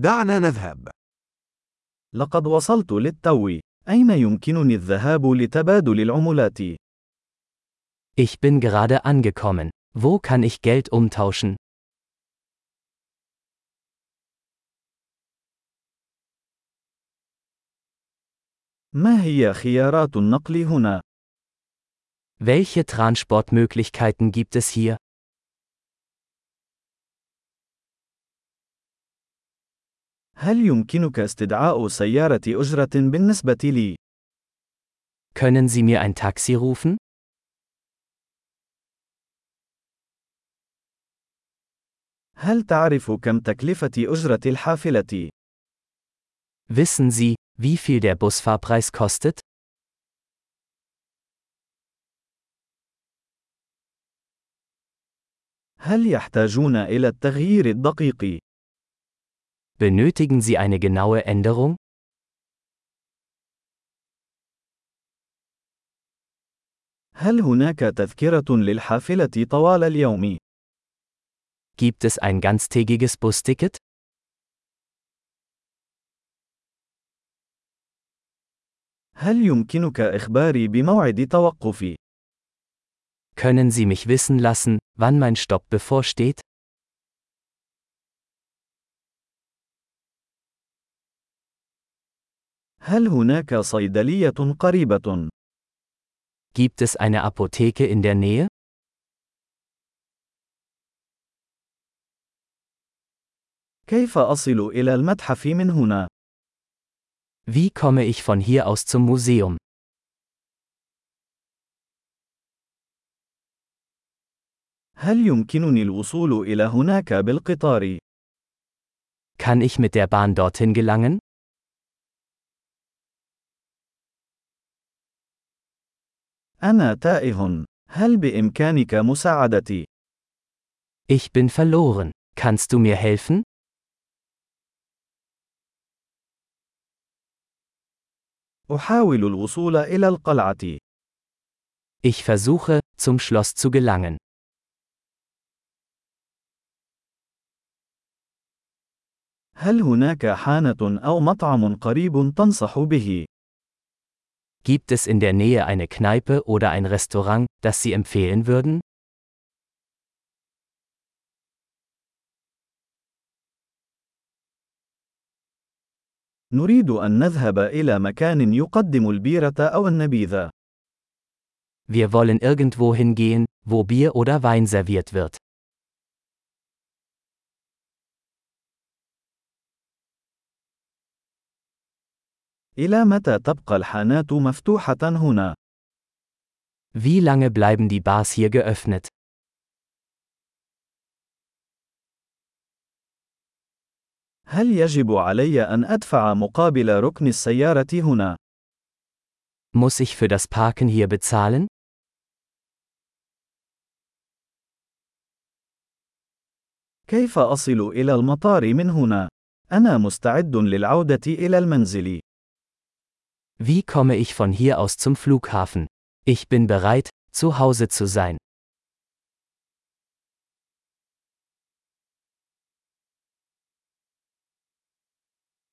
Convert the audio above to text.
دعنا نذهب. لقد وصلت للتو. أين يمكنني الذهاب لتبادل العملات؟ Ich bin gerade angekommen. Wo kann ich Geld umtauschen? ما هي خيارات النقل هنا؟ Welche Transportmöglichkeiten gibt es hier? هل يمكنك استدعاء سيارة أجرة بالنسبة لي؟ Können Sie mir ein Taxi rufen? هل تعرف كم تكلفة أجرة الحافلة؟ Wissen Sie, wie viel der Busfahrpreis kostet? هل يحتاجون إلى التغيير الدقيق؟ Benötigen Sie eine genaue Änderung? هل هناك تذكرة للحافلة طوال اليوم؟ Gibt es ein ganztägiges Busticket? هل يمكنك إخباري بموعد توقفي؟ Können Sie mich wissen lassen, wann mein Stopp bevorsteht? هل هناك صيدلية قريبة؟ Gibt es eine Apotheke in der Nähe? كيف أصل إلى المتحف من هنا؟ Wie komme ich von hier aus zum Museum? هل يمكنني الوصول إلى هناك بالقطار؟ Kann ich mit der Bahn dorthin gelangen? أنا تائه. هل بإمكانك مساعدتي؟ Ich bin verloren. Kannst du mir helfen? أحاول الوصول إلى القلعة. Ich versuche, zum Schloss zu gelangen. هل هناك حانة أو مطعم قريب تنصح به؟ Gibt es in der Nähe eine Kneipe oder ein Restaurant, das Sie empfehlen würden? نريد أن نذهب إلى مكان يقدم البيرة أو النبيذ. Wir wollen irgendwo hingehen, wo Bier oder Wein serviert wird. إلى متى تبقى الحانات مفتوحة هنا؟ Wie lange bleiben die Bars hier geöffnet? هل يجب علي أن أدفع مقابل ركن السيارة هنا؟ Muss ich für das Parken hier bezahlen? كيف أصل إلى المطار من هنا؟ أنا مستعد للعودة إلى المنزل. Wie komme ich von hier aus zum Flughafen? Ich bin bereit, zu Hause zu sein.